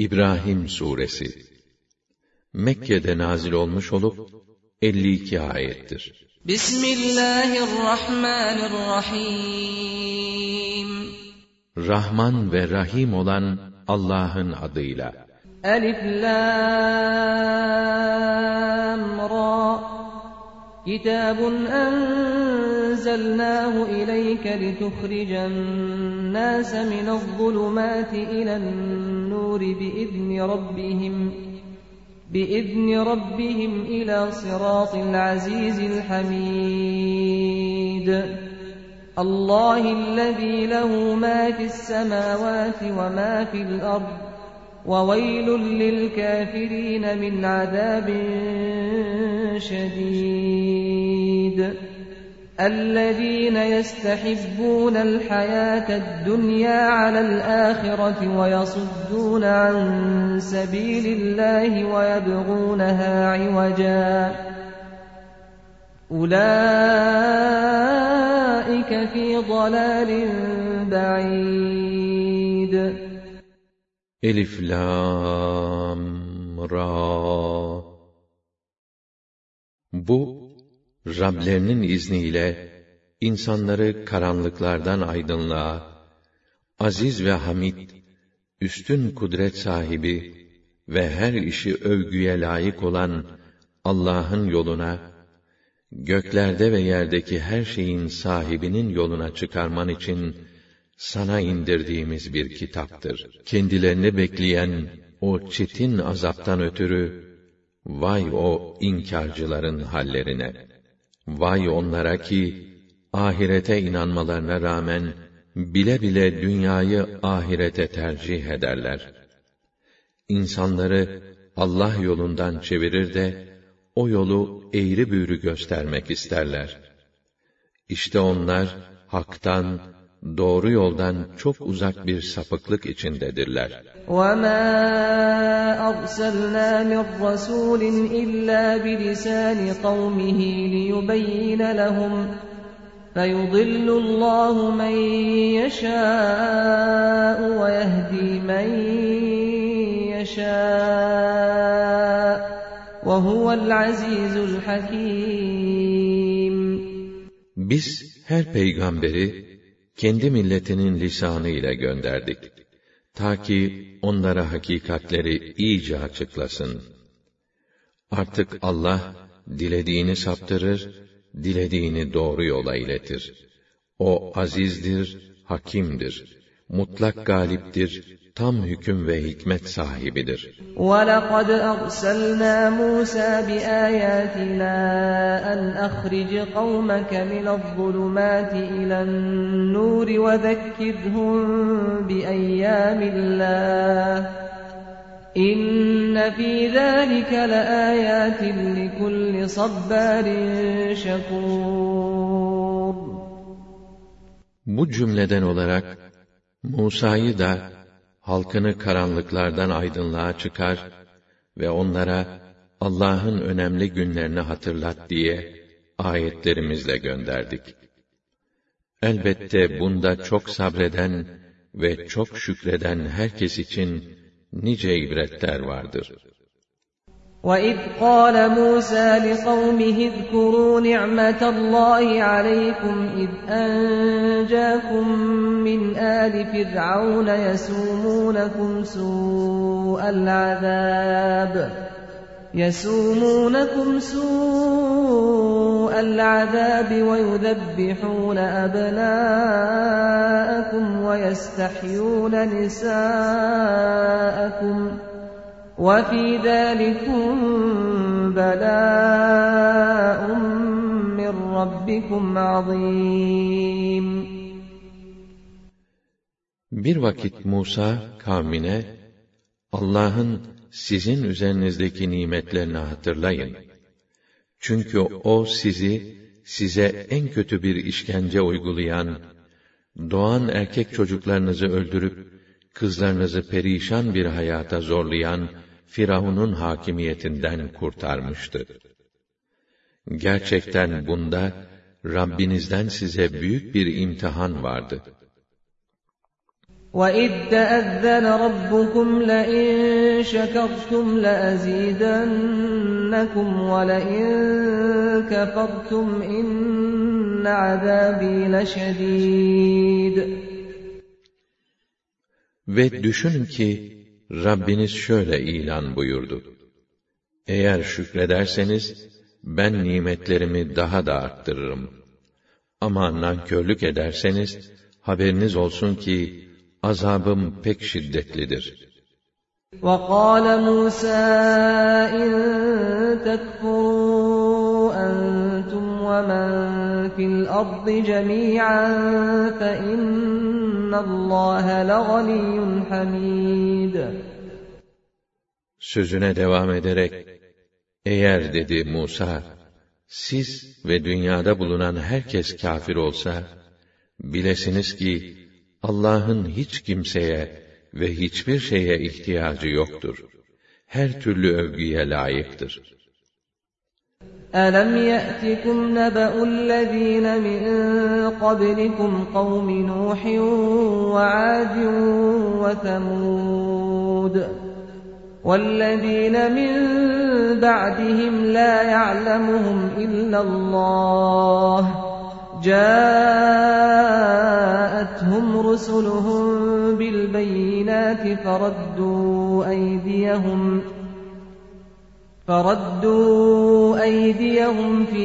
İbrahim Suresi Mekke'de nazil olmuş olup 52 ayettir. Bismillahirrahmanirrahim. Rahman ve Rahim olan Allah'ın adıyla. Elif Lam Ra. Kitabun enzelnahu ileyke lituhricen nâse minezzulumâti ilen-nûri biizni rabbihim ilâ sirâtil azîzil hamîd. Allahillezî lehu mâ fis-semâvâti ve mâ fil-ard. وَوَيْلٌ لِلْكَافِرِينَ مِنْ عَذَابٍ شَدِيدٍ الَّذِينَ يَسْتَحِبُّونَ الْحَيَاةَ الدُّنْيَا عَلَى الْآخِرَةِ وَيَصُدُّونَ عَنْ سَبِيلِ اللَّهِ وَيَبْغُونَهَا عِوَجًا أُولَئِكَ فِي ضَلَالٍ بَعِيدٍ. Elif Lam Ra. Bu, Rablerinin izniyle insanları karanlıklardan aydınlığa, aziz ve hamid, üstün kudret sahibi ve her işi övgüye layık olan Allah'ın yoluna, göklerde ve yerdeki her şeyin sahibinin yoluna çıkarman için sana indirdiğimiz bir kitaptır. Kendilerini bekleyen o çetin azaptan ötürü, vay o inkarcıların hallerine! Vay onlara ki, ahirete inanmalarına rağmen, bile bile dünyayı ahirete tercih ederler. İnsanları Allah yolundan çevirir de, o yolu eğri büğrü göstermek isterler. İşte onlar, haktan, doğru yoldan çok uzak bir sapıklık içindedirler. وَمَا أَرْسَلْنَا مِنْ رَسُولٍ إِلَّا بِلِسَانِ قَوْمِهِ لِيُبَيِّنَ لَهُمْ فَيُضِلُّ اللَّهُ مَنْ يَشَاءُ وَيَهْدِي مَنْ يَشَاءُ وَهُوَ الْعَزِيزُ الْحَكِيمُ. Biz her peygamberi kendi milletinin lisanı ile gönderdik. Ta ki onlara hakikatleri iyice açıklasın. Artık Allah, dilediğini saptırır, dilediğini doğru yola iletir. O azizdir, hakimdir, mutlak galiptir, tam hüküm ve hikmet sahibidir. وَلَقَدْ أَرْسَلْنَا مُوسَى بِآيَاتِنَا أَنْ أَخْرِجْ قَوْمَكَ مِنَ الظُّلُمَاتِ إِلَى النُّورِ وَذَكِّرْهُم بِأَيَّامِ اللَّهِ إِنَّ فِي ذَلِكَ لَآيَاتٍ لِكُلِّ صَبَّارٍ شَكُورٍ. Bu cümleden olarak Musa'yı da halkını karanlıklardan aydınlığa çıkar ve onlara Allah'ın önemli günlerini hatırlat diye ayetlerimizle gönderdik. Elbette bunda çok sabreden ve çok şükreden herkes için nice ibretler vardır. وَإِذْ قَالَ مُوسَى لِقَوْمِهِ اذْكُرُوا نِعْمَةَ اللَّهِ عَلَيْكُمْ إِذْ أَنْجَاكُمْ مِنْ آلِ فِرْعَوْنَ يَسُومُونَكُمْ سُوءَ الْعَذَابِ وَيُذَبِّحُونَ أَبْنَاءَكُمْ وَيَسْتَحْيُونَ نِسَاءَكُمْ وَفِي ذَلِكُمْ بَلَاءٌ مِّن رَّبِّكُمْ عَظِيمٌ. Bir vakit Musa kavmine, Allah'ın sizin üzerinizdeki nimetlerini hatırlayın. Çünkü O size en kötü bir işkence uygulayan, doğan erkek çocuklarınızı öldürüp, kızlarınızı perişan bir hayata zorlayan Firavun'un hakimiyetinden kurtarmıştı. Gerçekten bunda Rabbinizden size büyük bir imtihan vardı. وَإِذْ تَأَذَّنَ رَبُّكُمْ لَئِن شَكَرْتُمْ لَأَزِيدَنَّكُمْ وَلَئِن كَفَرْتُمْ إِنَّ عَذَابِي لَشَدِيدٌ. Ve düşünün ki Rabbiniz şöyle ilan buyurdu: Eğer şükrederseniz ben nimetlerimi daha da arttırırım. Ama nankörlük ederseniz haberiniz olsun ki azabım pek şiddetlidir. وَقَالَ مُوسَى إِن تَكْفُرُوا أَنْتُمْ وَمَنْ فِي الْأَرْضِ جَمِيعًا فَإِنَّ اللّٰهَ لَغَنِيٌّ حَمِيدٌ. Sözüne devam ederek, eğer dedi Musa, siz ve dünyada bulunan herkes kâfir olsa, bilesiniz ki Allah'ın hiç kimseye ve hiçbir şeye ihtiyacı yoktur. Her türlü övgüye layıktır. أَلَمْ يَأْتِكُمْ نَبَأُ الَّذ۪ينَ مِنْ قَبْلِكُمْ قَوْمِ نُوحٍ وَعَادٍ وَثَمُودَ وَالَّذ۪ينَ مِنْ بَعْدِهِمْ لَا يَعْلَمُهُمْ إِلَّا اللّٰهُ جاءتهم رسلهم بالبينات فردوا أيديهم في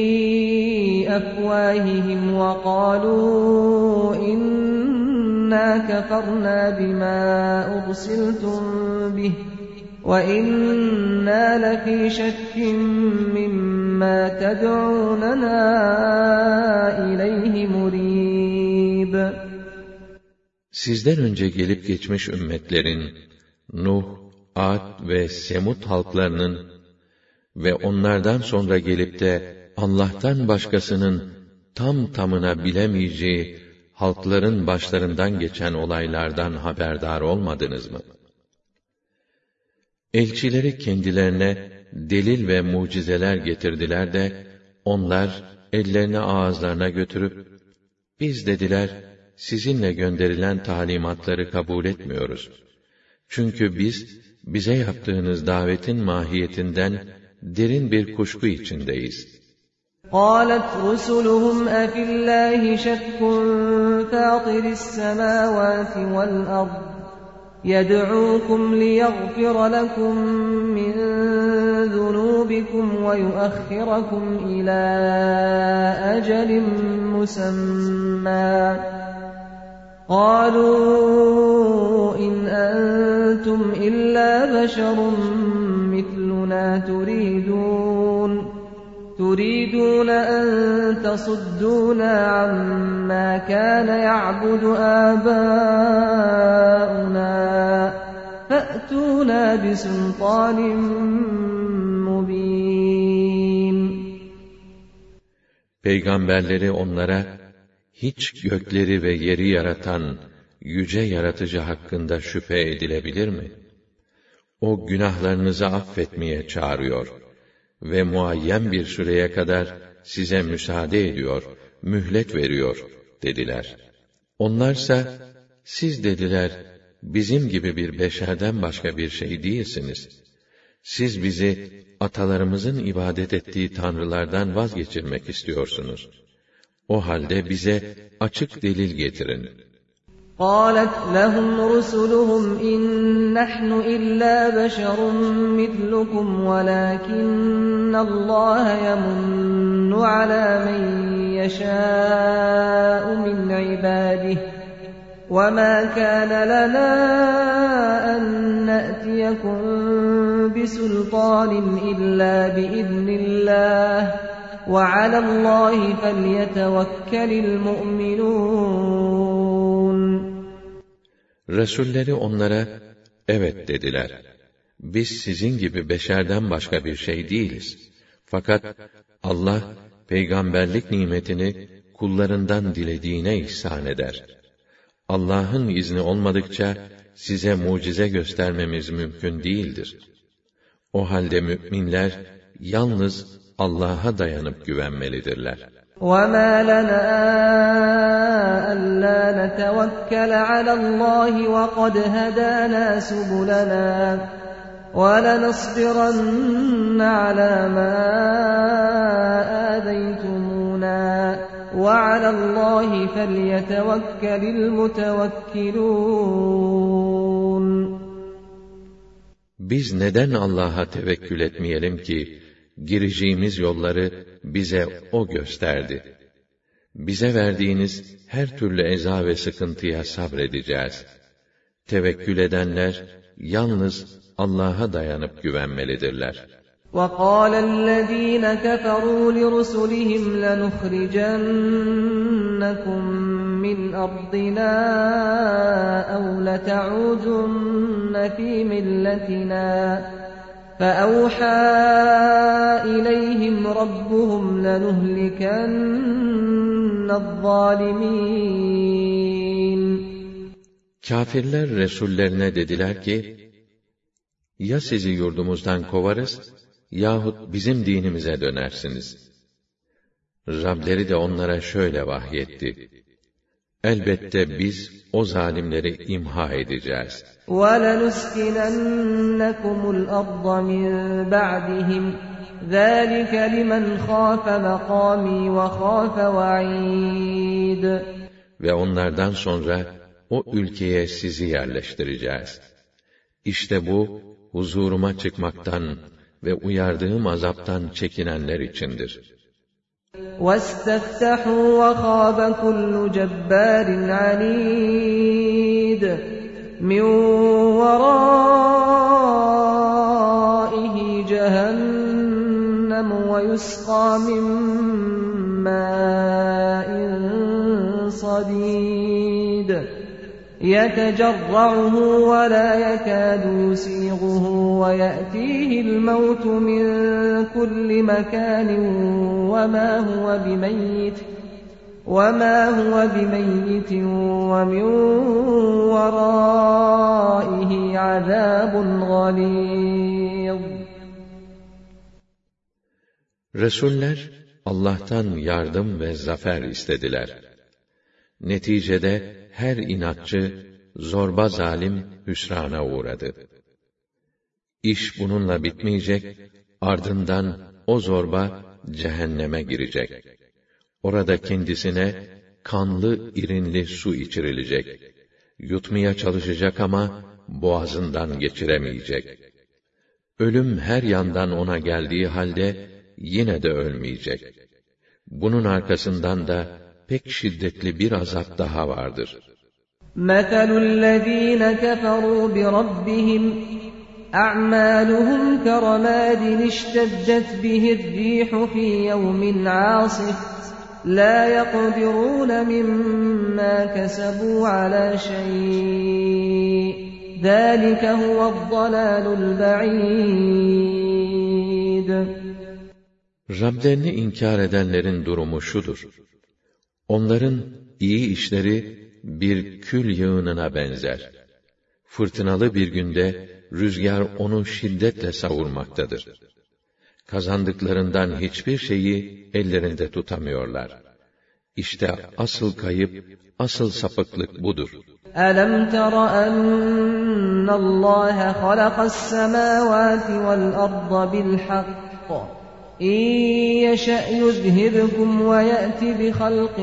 أفواههم وقالوا إنا كفرنا بما أرسلتم به وَإِنَّا لَفِي شَكٍّ مِّمَّا تَدْعُونَنَا إِلَيْهِ مُرِيبٍ. Sizden önce gelip geçmiş ümmetlerin, Nuh, Ad ve Semud halklarının ve onlardan sonra gelip de Allah'tan başkasının tam tamına bilemeyeceği halkların başlarından geçen olaylardan haberdar olmadınız mı? Elçileri kendilerine delil ve mucizeler getirdiler de, onlar ellerini ağızlarına götürüp, biz dediler, sizinle gönderilen talimatları kabul etmiyoruz. Çünkü biz, bize yaptığınız davetin mahiyetinden derin bir kuşku içindeyiz. قَالَتْ رُسُلُهُمْ أَفِي اللّٰهِ شَكٌّ فَاطِرِ السَّمَاوَاتِ وَالْأَرْضِ يَدْعُوكُمْ لِيَغْفِرَ لَكُمْ مِنْ ذُنُوبِكُمْ وَيُؤَخِّرَكُمْ إِلَى أَجَلٍ مُّسَمًّى قَالُوا إِنْ أَنْتُمْ إِلَّا بَشَرٌ مِثْلُنَا تُرِيدُونَ أَن تَصُدُّونَا عَمَّا كَانَ يَعْبُدُ آبَاؤُنَا فَأْتُونَا بِسُلْطَانٍ مُّبِينٍ. Peygamberleri onlara, hiç gökleri ve yeri yaratan yüce yaratıcı hakkında şüphe edilebilir mi? O günahlarınızı affetmeye çağırıyor ve muayyen bir süreye kadar size müsaade ediyor, mühlet veriyor dediler. Onlarsa, siz dediler, bizim gibi bir beşerden başka bir şey değilsiniz. Siz bizi atalarımızın ibadet ettiği tanrılardan vazgeçirmek istiyorsunuz. O halde bize açık delil getirin. قَالَتْ لَهُمْ رُسُلُهُمْ إِن نَّحْنُ إِلَّا بَشَرٌ مِّثْلُكُمْ وَلَٰكِنَّ اللَّهَ يَمُنُّ عَلَىٰ مَن يَشَاءُ مِنْ عِبَادِهِ وَمَا كَانَ لَنَا أَن نَّأْتِيَكُم بِسُلْطَانٍ إِلَّا بِإِذْنِ اللَّهِ وَعَلَى اللَّهِ فَلْيَتَوَكَّلِ الْمُؤْمِنُونَ. Resulleri onlara, evet dediler. Biz sizin gibi beşerden başka bir şey değiliz. Fakat Allah, peygamberlik nimetini kullarından dilediğine ihsan eder. Allah'ın izni olmadıkça, size mucize göstermemiz mümkün değildir. O halde müminler, yalnız Allah'a dayanıp güvenmelidirler. وَمَا لَنَا أَلَّا نَتَوَكَّلَ عَلَى اللَّهِ وَقَدْ هَدَانَا سُبُلَنَا وَلَنَصْبِرَنَّ عَلَى مَا آذَيْتُمُونَا وَعَلَى اللَّهِ فَلْيَتَوَكَّلِ الْمُتَوَكِّلُونَ. Biz neden Allah'a tevekkül etmeyelim ki, gireceğimiz yolları bize O gösterdi. Bize verdiğiniz her türlü eza ve sıkıntıya sabredeceğiz. Tevekkül edenler, yalnız Allah'a dayanıp güvenmelidirler. وَقَالَ الَّذ۪ينَ كَفَرُوا لِرُسُلِهِمْ لَنُخْرِجَنَّكُمْ مِنْ أَرْضِنَا أَوْ لَتَعُودُنَّ فِي مِلَّتِنَا فَأَوْحَى إِلَيْهِمْ رَبُّهُمْ لَنُهْلِكَنَّ الظَّالِمِينَ. Kâfirler Resullerine dediler ki, ya sizi yurdumuzdan kovarız, yahut bizim dinimize dönersiniz. Rableri de onlara şöyle vahyetti: elbette biz o zalimleri imha edeceğiz. وَلَنُسْكِنَنَّكُمُ الْأَرْضَ مِنْ بَعْدِهِمْ ذَٰلِكَ لِمَنْ خَافَ مَقَامِي وَخَافَ وَعِيدِ. Ve onlardan sonra o ülkeye sizi yerleştireceğiz. İşte bu, huzuruma çıkmaktan ve uyardığım azaptan çekinenler içindir. وَاسْتَفْتَحُوا وَخَابَ كُلُّ جَبَّارٍ عَنِيدٍ مِّن وَرَائِهِ جَهَنَّمُ وَيُسْقَىٰ مِن مَّاءٍ صَدِيدٍ يَتَجَرَّعُهُ وَلَا يَكَادُ يُسِيغُهُ وَيَأْتِيهِ الْمَوْتُ مِن كُلِّ مَكَانٍ وَمَا هُوَ بِمَيِّتٍ وَمِن وَرَائِهِ عَذَابٌ غَلِيظٌ. Resuller Allah'tan yardım ve zafer istediler. Neticede her inatçı, zorba zalim hüsrana uğradı. İş bununla bitmeyecek, ardından o zorba cehenneme girecek. Orada kendisine kanlı, irinli su içirilecek. Yutmaya çalışacak ama boğazından geçiremeyecek. Ölüm her yandan ona geldiği halde yine de ölmeyecek. Bunun arkasından da pek şiddetli bir azap daha vardır. مَثَلُ الَّذ۪ينَ كَفَرُوا بِرَبِّهِمْ أَعْمَالُهُمْ كَرَمَادٍ اشْتَدَّتْ بِهِ الرِّيحُ فِي يَوْمٍ عَاصِفٍ لَا يَقْدِرُونَ مِمَّا كَسَبُوا عَلَى شَيْءٍ ذَٰلِكَ هُوَ الضَّلَالُ الْبَعِيدُ. Rablerini inkar edenlerin durumu şudur: onların iyi işleri bir kül yığınına benzer. Fırtınalı bir günde rüzgar onu şiddetle savurmaktadır. Kazandıklarından hiçbir şeyi ellerinde tutamıyorlar. İşte asıl kayıp, asıl sapıklık budur. أَلَمْ تَرَ أَنَّ اللّٰهَ خَلَقَ السَّمَاوَاتِ وَالْأَرْضَ بِالْحَقِّ إِنْ يَشَأْ يُذْهِبْكُمْ وَيَأْتِ بِخَلْقٍ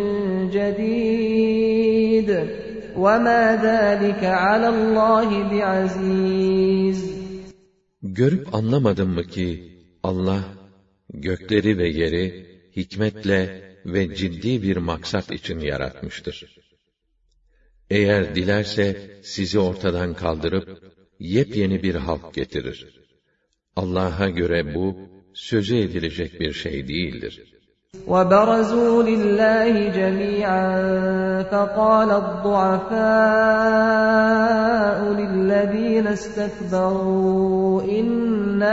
جَدِيدٍ وَمَا ذَٰلِكَ عَلَى اللّٰهِ بِعَزِيزٍ. Görüp anlamadın mı ki Allah gökleri ve yeri hikmetle ve ciddi bir maksat için yaratmıştır. Eğer dilerse sizi ortadan kaldırıp yepyeni bir halk getirir. Allah'a göre bu sözü edilecek bir şey değildir. وَبَرَزُوا لِلَّهِ جَمِيعًا فَقَالَ الضُّعَفَاءُ لِلَّذِينَ اسْتَكْبَرُوا إِنَّا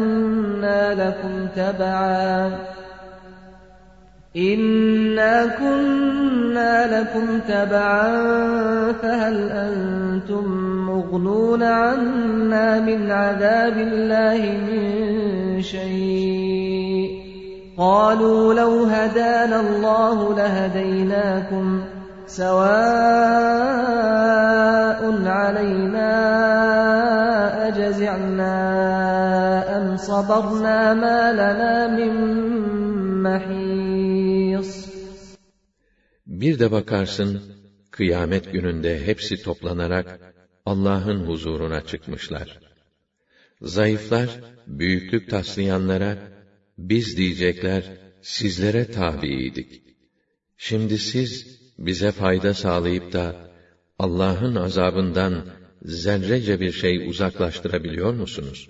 كُنَّا لَكُمْ تَبَعًا فَهَلْ أَنْتُمْ مُغْنُونَ عَنَّا مِنْ عَذَابِ اللَّهِ مِنْ شَيْءٍ قالوا لو هدانا الله لهديناكم سواء علينا أجزعنا أم صبرنا ما لنا من محيص. Bir de bakarsın, kıyamet gününde hepsi toplanarak Allah'ın huzuruna çıkmışlar. Zayıflar, büyüklük taslayanlara, biz diyecekler, sizlere tabiydik. Şimdi siz, bize fayda sağlayıp da, Allah'ın azabından zerrece bir şey uzaklaştırabiliyor musunuz?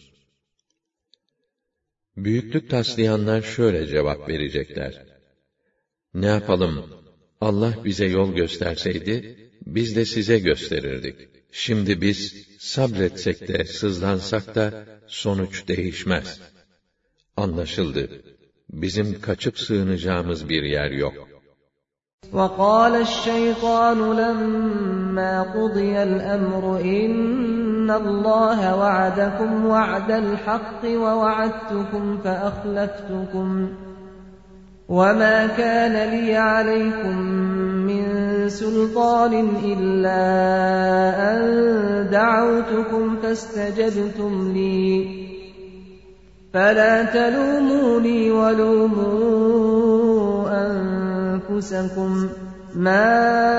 Büyüklük taslayanlar şöyle cevap verecekler: ne yapalım, Allah bize yol gösterseydi, biz de size gösterirdik. Şimdi biz sabretsek de, sızlansak da, sonuç değişmez. Anlaşıldı. Bizim kaçıp sığınacağımız bir yer yok. وَقَالَ الشَّيْطَانُ لَمَّا قُضِيَ الْأَمْرُ إِنَّ اللَّهَ وَعَدَكُمْ وَعْدَ الْحَقِّ وَوَعَدتُّكُمْ فَأَخْلَفْتُكُمْ وَمَا كَانَ لِيَ عَلَيْكُمْ مِنْ سُلْطَانٍ إِلَّا أَنْ دَعَوْتُكُمْ فَاسْتَجَبْتُمْ لِي فَلَا تَلُومُونِي وَلُومُوا أَنفُسَكُمْ مَا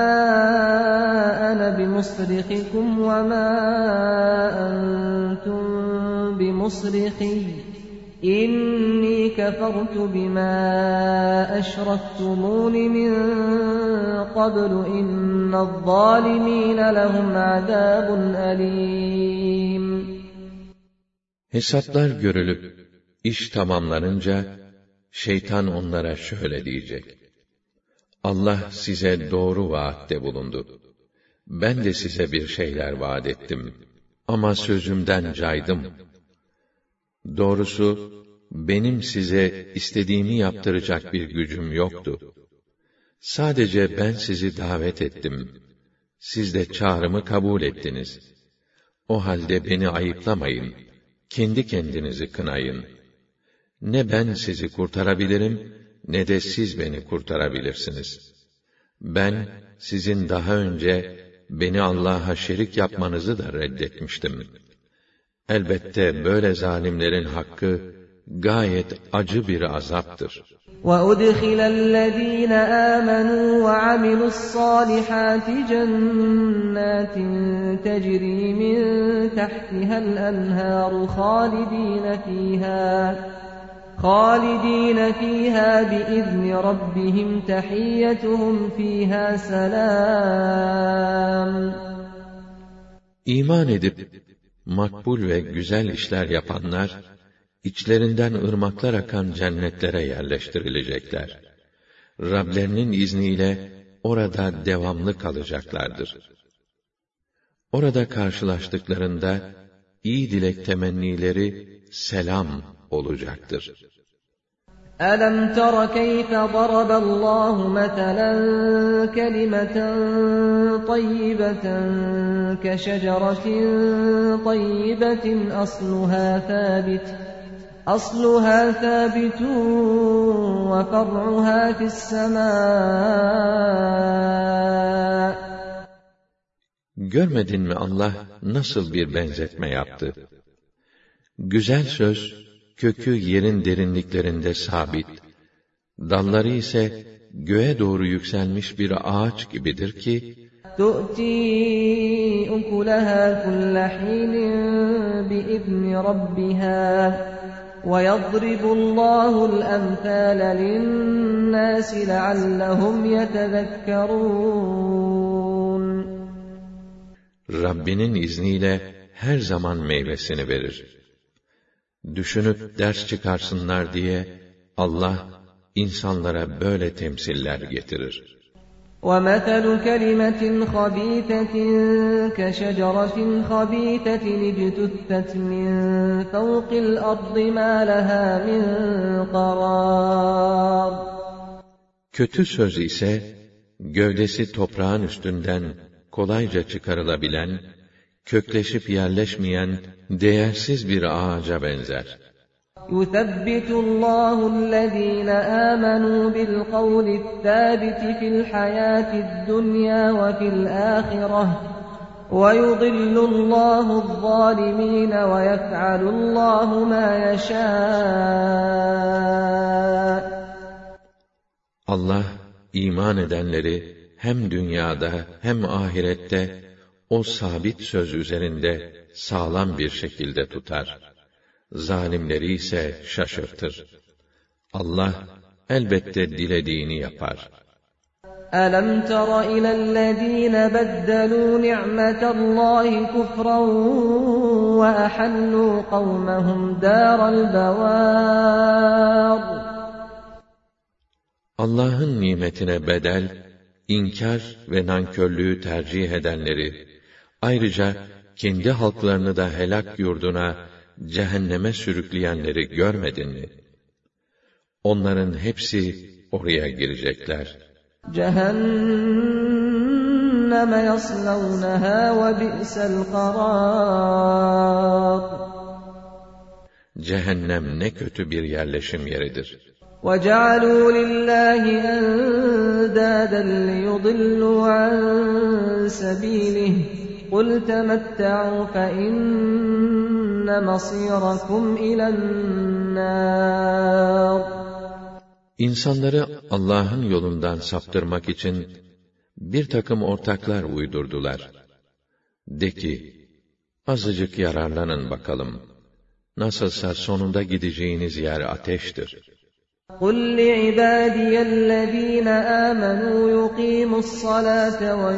أَنَا بِمُصْرِخِكُمْ وَمَا أَنْتُمْ بِمُصْرِخِيَّ إِنِّي كَفَرْتُ بِمَا أَشْرَكْتُمُونِ مِنْ قَبْلُ إِنَّ الظَّالِمِينَ لَهُمْ عَذَابٌ أَلِيمٌ. Hesaplar görülüp, iş tamamlanınca, şeytan onlara şöyle diyecek: Allah size doğru vaatte bulundu. Ben de size bir şeyler vaat ettim. Ama sözümden caydım. Doğrusu, benim size istediğimi yaptıracak bir gücüm yoktu. Sadece ben sizi davet ettim. Siz de çağrımı kabul ettiniz. O halde beni ayıplamayın. Kendi kendinizi kınayın. Ne ben sizi kurtarabilirim, ne de siz beni kurtarabilirsiniz. Ben, sizin daha önce beni Allah'a şerik yapmanızı da reddetmiştim. Elbette böyle zalimlerin hakkı gayet acı bir azaptır. وَأُدْخِلَ الَّذ۪ينَ آمَنُوا وَعَمِلُوا الصَّالِحَاتِ جَنَّاتٍ تَجْرِي مِنْ تَحْتِهَا الْأَنْهَارُ خَالِد۪ينَ ف۪يهَا بِإِذْنِ رَبِّهِمْ تَحِيَّتُهُمْ ف۪يهَا سَلَامٌ. İman edip, makbul ve güzel işler yapanlar, İçlerinden ırmaklar akan cennetlere yerleştirilecekler. Rablerinin izniyle orada devamlı kalacaklardır. Orada karşılaştıklarında iyi dilek temennileri selam olacaktır. أَلَمْ تَرَ كَيْفَ ضَرَبَ اللّٰهُ مَثَلًا كَلِمَةً طَيِّبَةً كَشَجَرَةٍ طَيِّبَةٍ أَصْلُهَا ثَابِتٌ وَفَرْعُهَا فِي السَّمَاءِ. Görmedin mi Allah nasıl bir benzetme yaptı? Güzel söz, kökü yerin derinliklerinde sabit, dalları ise göğe doğru yükselmiş bir ağaç gibidir ki, تُؤْتِي أُكُلَهَا كُلَّ حِينٍ بِإِذْنِ رَبِّهَا وَيَضْرِبُ اللّٰهُ الْأَمْثَالَ لِلنَّاسِ لَعَلَّهُمْ يَتَذَكَّرُونَ. Rabbinin izniyle her zaman meyvesini verir. Düşünüp ders çıkarsınlar diye Allah insanlara böyle temsiller getirir. وَمَثَلُ كَلِمَةٍ خَبِيثَةٍ كَشَجَرَةٍ خَبِيثَةٍ اجْتُثَّتْ مِنْ فَوْقِ الْأَرْضِ مَا لَهَا مِنْ قَرَارٍ. Kötü söz ise, gövdesi toprağın üstünden kolayca çıkarılabilen, kökleşip yerleşmeyen, değersiz bir ağaca benzer. يُثَبِّتُ اللّٰهُ الَّذ۪ينَ آمَنُوا بِالْقَوْلِ الثَّابِتِ فِي الْحَيَاةِ الدُّنْيَا وَفِي الْآخِرَةِ وَيُضِلُّ اللّٰهُ الظَّالِمِينَ وَيَفْعَلُ اللّٰهُ مَا يَشَاءُ. Allah iman edenleri hem dünyada hem ahirette o sabit söz üzerinde sağlam bir şekilde tutar. Zalimleri ise şaşırtır. Allah elbette dilediğini yapar. أَلَمْ تَرَ إِلَى الَّذ۪ينَ بَدَّلُوا نِعْمَةَ اللّٰهِ كُفْرًا وَأَحَلُّوا قَوْمَهُمْ دَارَ الْبَوَارِ. Allah'ın nimetine bedel, inkar ve nankörlüğü tercih edenleri, ayrıca kendi halklarını da helak yurduna, cehenneme sürükleyenleri görmedin mi? Onların hepsi oraya girecekler. Cehenneme yaslawnaha ve bi'sel qarar. Cehennem ne kötü bir yerleşim yeridir. وَجَعَلُوا لِلّٰهِ أَنْدَادًا لِيُضِلُّوا عَنْ سَب۪يلِهِ قُلْ تَمَتَّعُوا فَإِنَّ مَصِيرَكُمْ إِلَى النَّارِ. İnsanları Allah'ın yolundan saptırmak için bir takım ortaklar uydurdular. De ki, azıcık yararlanın bakalım. Nasılsa sonunda gideceğiniz yer ateştir. قُلْ لِعِبَادِيَ الَّذ۪ينَ آمَنُوا يُقِيمُوا الصَّلَاةَ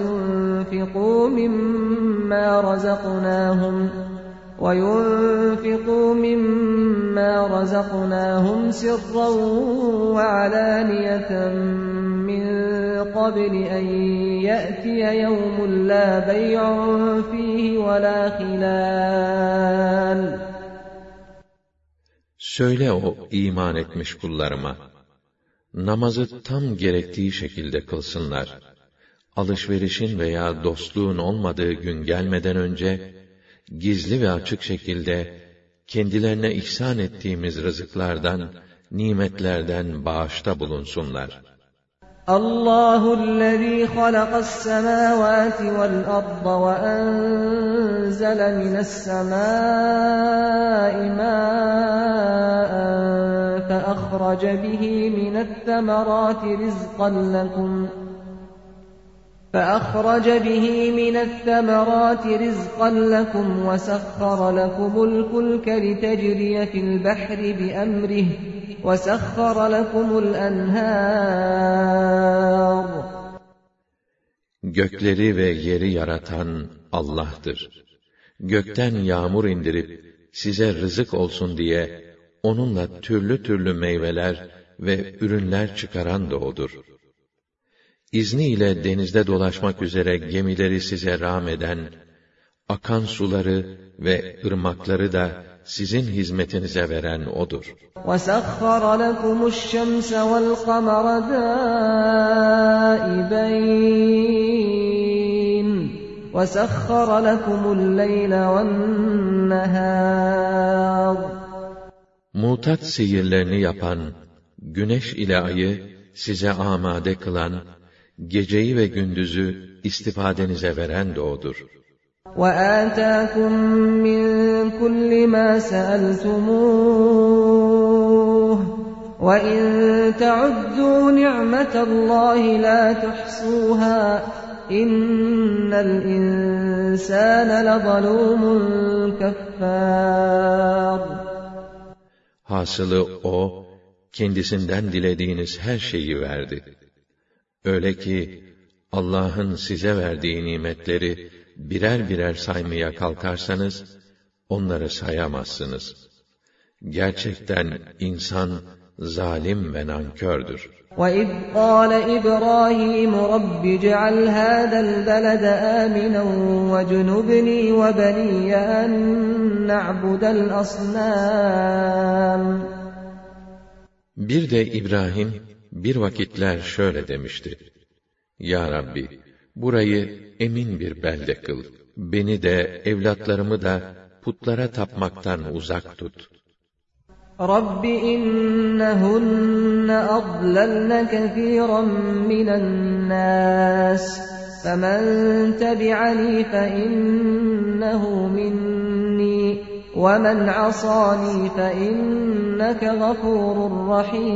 وَيُنْفِقُوا مِمَّا رَزَقْنَاهُمْ سِرًّا وَعَلَانِيَةً مِّن قَبْلِ أَنْ يَأْتِيَ يَوْمٌ لَا بَيْعٌ فِيهِ وَلَا خِلَالٌ. Söyle o iman etmiş kullarıma, namazı tam gerektiği şekilde kılsınlar. Alışverişin veya dostluğun olmadığı gün gelmeden önce, gizli ve açık şekilde, kendilerine ihsan ettiğimiz rızıklardan, nimetlerden bağışta bulunsunlar. Allahü'llezî halaqas-semâvâti vel-arda ve enzele mine's-semâi mâ'en feahrece bihi mineth-themerâti rizqan lekum وَسَخَّرَ لَكُمُ الْفُلْكَ لِتَجْرِيَ فِي الْبَحْرِ بِأَمْرِهِ وَسَخَّرَ لَكُمُ الْأَنْهَارَ. Gökleri ve yeri yaratan Allah'tır. Gökten yağmur indirip size rızık olsun diye onunla türlü türlü meyveler ve ürünler çıkaran da O'dur. İzniyle denizde dolaşmak üzere gemileri size rağm eden, akan suları ve ırmakları da sizin hizmetinize veren O'dur. وَسَخَّرَ لَكُمُ الشَّمْسَ وَالْقَمَرَ دَائِبَيْنِ وَسَخَّرَ لَكُمُ اللَّيْلَ وَالنَّهَارَ. Mutat sihirlerini yapan, güneş ile ayı size amade kılan, geceyi ve gündüzü istifadenize veren de O'dur. وَآتَاكُمْ مِنْ كُلِّ مَا سَأَلْتُمُوهُ وَإِنْ تَعُدُّوا نِعْمَةَ اللّٰهِ لَا تُحْصُوهَا إِنَّ الْإِنْسَانَ لَظَلُومٌ كَفَّارٌ. Hasılı O, kendisinden dilediğiniz her şeyi verdi. Öyle ki, Allah'ın size verdiği nimetleri birer birer saymaya kalkarsanız, onları sayamazsınız. Gerçekten insan, zalim ve nankördür. وَإِذْ قَالَ إِبْرَاهِيمُ رَبِّ اجْعَلْ هَذَا الْبَلَدَ آمِنًا وَاجْنُبْنِي وَبَنِيَّ أَن نَّعْبُدَ الْأَصْنَامَ. Bir de İbrahim, bir vakitler şöyle demişti: Ya Rabbi, burayı emin bir belde kıl. Beni de, evlatlarımı da putlara tapmaktan uzak tut. رب إنهن أضللن كثيرا من الناس فمن تبعني فإنه مني ومن عصاني فإنك غفور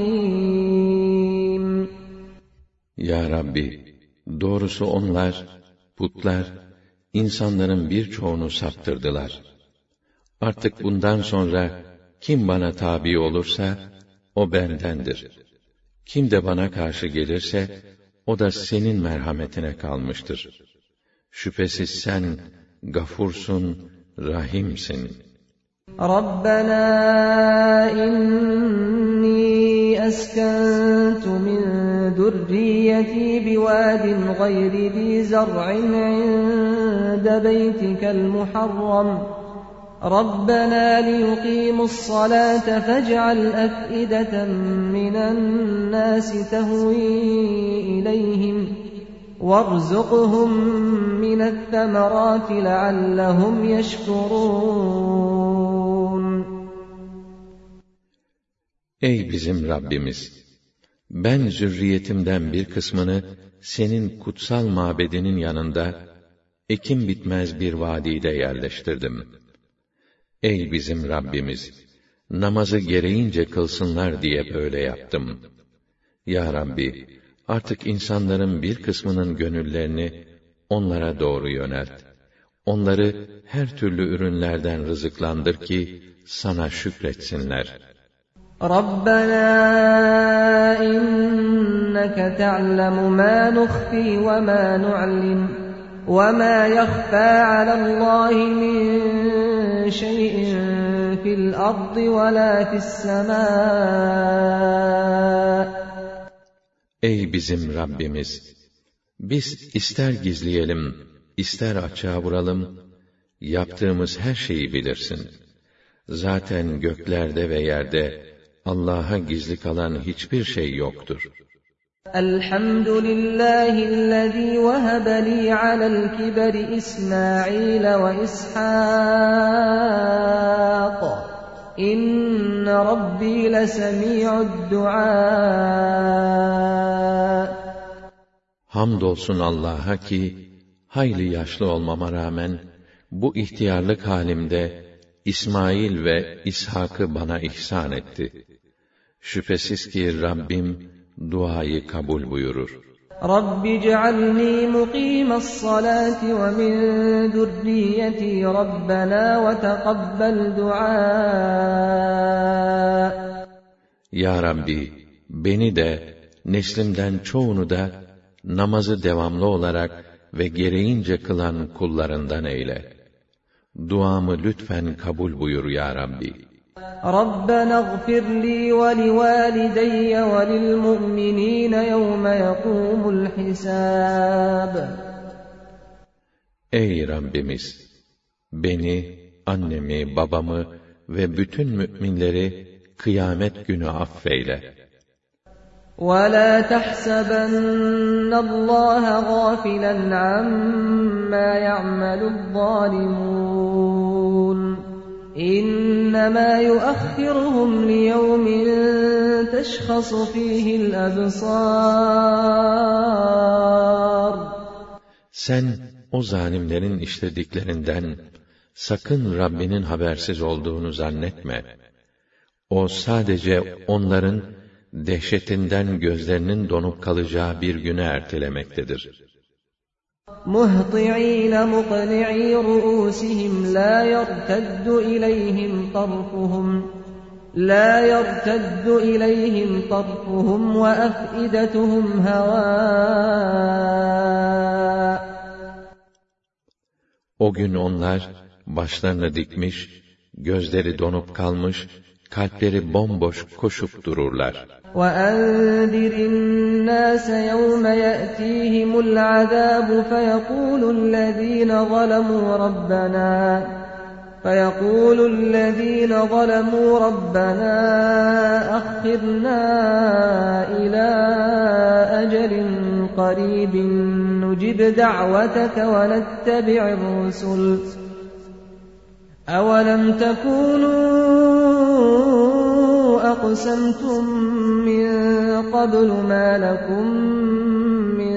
رحيم. Ya Rabbi, doğrusu onlar, putlar, insanların birçoğunu saptırdılar. Artık bundan sonra kim bana tabi olursa, o bendendir. Kim de bana karşı gelirse, o da senin merhametine kalmıştır. Şüphesiz sen, gafursun, rahimsin. Rabbena inni eskentu min zurriyeti biwadin gayri zi zar'in inde beytikel muharram. رَبَّنَا لِيُقِيمُوا الصَّلَاةَ فَاجْعَلْ أَفْئِدَةً مِّنَ النَّاسِ تَهْوِي إِلَيْهِمْ وَارْزُقْهُم مِّنَ الثَّمَرَاتِ لَعَلَّهُمْ يَشْكُرُونَ. Ey bizim Rabbimiz! Ben zürriyetimden bir kısmını senin kutsal mabedinin yanında ekim bitmez bir vadide yerleştirdim. Ey bizim Rabbimiz! Namazı gereğince kılsınlar diye böyle yaptım. Ya Rabbi! Artık insanların bir kısmının gönüllerini onlara doğru yönelt. Onları her türlü ürünlerden rızıklandır ki sana şükretsinler. Rabbena inneke te'lemu ma nukhfi ve ma nu'lin ve ma yakhfa alallâhi min şey'in fil ardı ve la fis semâ. Ey bizim Rabbimiz! Biz ister gizleyelim, ister açığa vuralım, yaptığımız her şeyi bilirsin. Zaten göklerde ve yerde Allah'a gizli kalan hiçbir şey yoktur. Elhamdülillahillezî vehebe li alel kiberi İsmail ve İshâk. İnne Rabbi lesemi'ud du'a. Hamdolsun Allah'a ki, hayli yaşlı olmama rağmen, bu ihtiyarlık halimde, İsmail ve İshak'ı bana ihsan etti. Şüphesiz ki Rabbim, duayı kabul buyurur. Rabbi cealni muqimassalati ve min zurriyeti Rabbena ve teqabbel dua. Ya Rabbi, beni de, neslimden çoğunu da, namazı devamlı olarak ve gereğince kılan kullarından eyle. Duamı lütfen kabul buyur ya Rabbi. Rabbena ighfir li ve livalideyye ve lilmu'minine yevme yekumul hisab. Ey Rabbimiz! Beni, annemi, babamı ve bütün müminleri kıyamet günü affeyle. وَلَا تَحْسَبَنَّ اللّٰهَ غَافِلًا عَمَّا يَعْمَلُ الظَّالِمُونَ إِنَّمَا يُؤَخِّرُهُمْ لِيَوْمٍ تَشْخَصُ فِيهِ الْأَبْصَارُ. Sen o zalimlerin işlediklerinden sakın Rabbinin habersiz olduğunu zannetme. O sadece onların dehşetinden gözlerinin donup kalacağı bir güne ertelemektedir. مُهْطِعِينَ مُقْنِعِي رُؤُوسِهِمْ لَا يَرْتَدُّ إِلَيْهِمْ طَرْفُهُمْ وَأَفْئِدَتُهُمْ هَوَاءٌ. O gün onlar başlarını dikmiş, gözleri donup kalmış, kalpleri bomboş koşup dururlar. وَأَنذِرِ النَّاسَ يَوْمَ يَأْتِيهِمُ الْعَذَابُ فَيَقُولُ الَّذِينَ ظَلَمُوا رَبَّنَا أَخِّرْنَا إِلَى أَجَلٍ قَرِيبٍ نُجِبْ دَعْوَتَكَ وَنَتَّبِعِ الرُّسُلَ أَوَلَمْ تَكُونُوا أقسمتم من قبل ما لكم من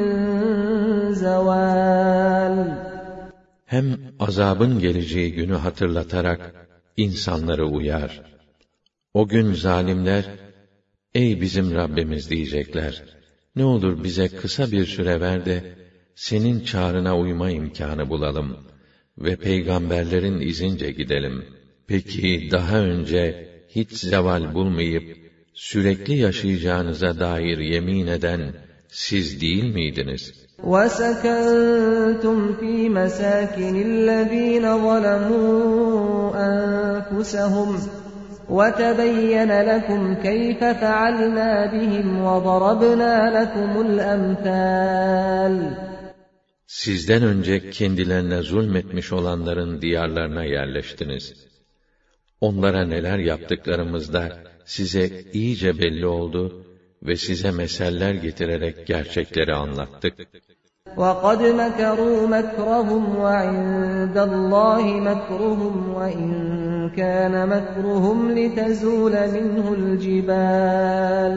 زوال. Hem azabın geleceği günü hatırlatarak insanları uyar. O gün zalimler, ey bizim Rabbimiz diyecekler, ne olur bize kısa bir süre ver de, senin çağrına uyma imkânı bulalım ve peygamberlerin izince gidelim. Peki daha önce hiç zeval bulmayıp, sürekli yaşayacağınıza dair yemin eden siz değil miydiniz? وَسَكَنْتُمْ فِي مَسَاكِنِ الَّذ۪ينَ ظَلَمُوا أَنفُسَهُمْ وَتَبَيَّنَ لَكُمْ كَيْفَ فَعَلْنَا بِهِمْ وَضَرَبْنَا لَكُمُ الْأَمْثَالَ. Sizden önce kendilerine zulmetmiş olanların diyarlarına yerleştiniz. Onlara neler yaptıklarımızda size iyice belli oldu ve size meseller getirerek gerçekleri anlattık. وَقَدْ مَكَرُوا مَكْرَهُمْ وَعِندَ اللّٰهِ مَكْرُهُمْ وَإِنْ كَانَ مَكْرُهُمْ لِتَزُولَ مِنْهُ الْجِبَالُ.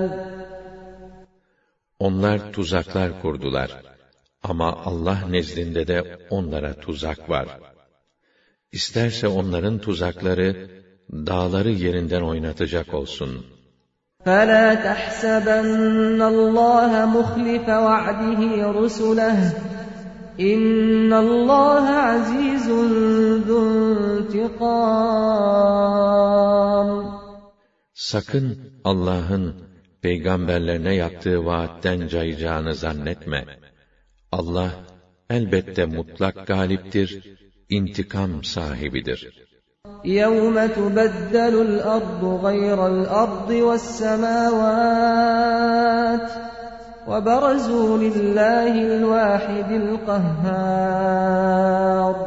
Onlar tuzaklar kurdular. Ama Allah nezdinde de onlara tuzak var. İsterse onların tuzakları, dağları yerinden oynatacak olsun. فَلَا تَحْسَبَنَّ اللّٰهَ مُخْلِفَ وَعْدِهِ رُسُلَهُ اِنَّ اللّٰهَ عَز۪يزٌ ذُو انْتِقَامٍ. Sakın Allah'ın peygamberlerine yaptığı vaatten cayacağını zannetme. Allah elbette mutlak galiptir, intikam sahibidir. يَوْمَ تُبَدَّلُ الْأَرْضُ غَيْرَ الْأَرْضِ وَالسَّمَاوَاتُ وَبَرَزُوا لِلّٰهِ الْوَاحِدِ الْقَهَّارِ.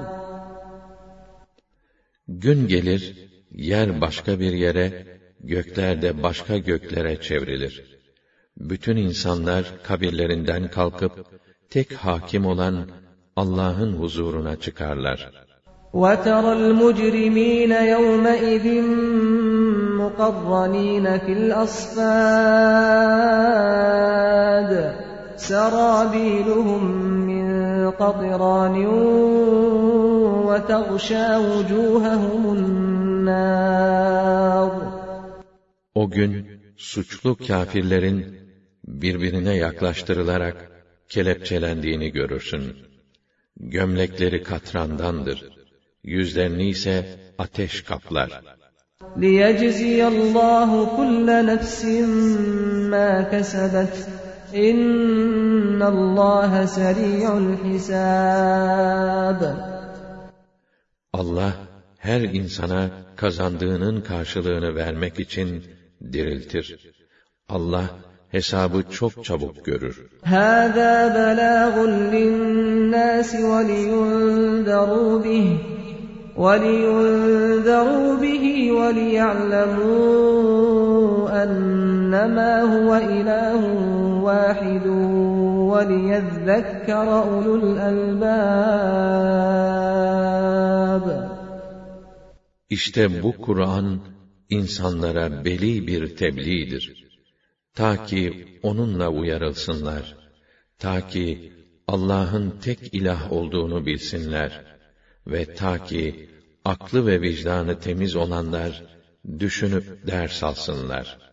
Gün gelir, yer başka bir yere, gökler de başka göklere çevrilir. Bütün insanlar kabirlerinden kalkıp, tek hakim olan Allah'ın huzuruna çıkarlar. وَتَرَى الْمُجْرِم۪ينَ يَوْمَئِذٍ مُقَرَّن۪ينَ فِي الْأَصْفَادِ سَرَابِيلُهُمْ مِنْ قَطِرَانٍ وَتَغْشَى وُجُوهَهُمُ النَّارُ. O gün suçlu kâfirlerin birbirine yaklaştırılarak kelepçelendiğini görürsün. Gömlekleri katrandandır. Yüzlerini ise ateş kaplar. لِيَجْزِيَ اللّٰهُ كُلَّ نَفْسٍ مَا كَسَبَتْ اِنَّ اللّٰهَ سَرِيعُ الْحِسَابِ. Allah her insana kazandığının karşılığını vermek için diriltir. Allah hesabı çok çabuk görür. هَذَا بَلَاغٌ لِلنَّاسِ وَلِيُنْذَرُوا بِهِ وَلِيَعْلَمُوا أَنَّمَا هُوَ إِلَٰهٌ وَاحِدٌ وَلِيَذَّكَّرَ أُولُو الْأَلْبَابِ. İşte bu Kur'an insanlara beli bir tebliğdir. Ta ki onunla uyarılsınlar. Ta ki Allah'ın tek ilah olduğunu bilsinler. Ve ta ki aklı ve vicdanı temiz olanlar düşünüp ders alsınlar.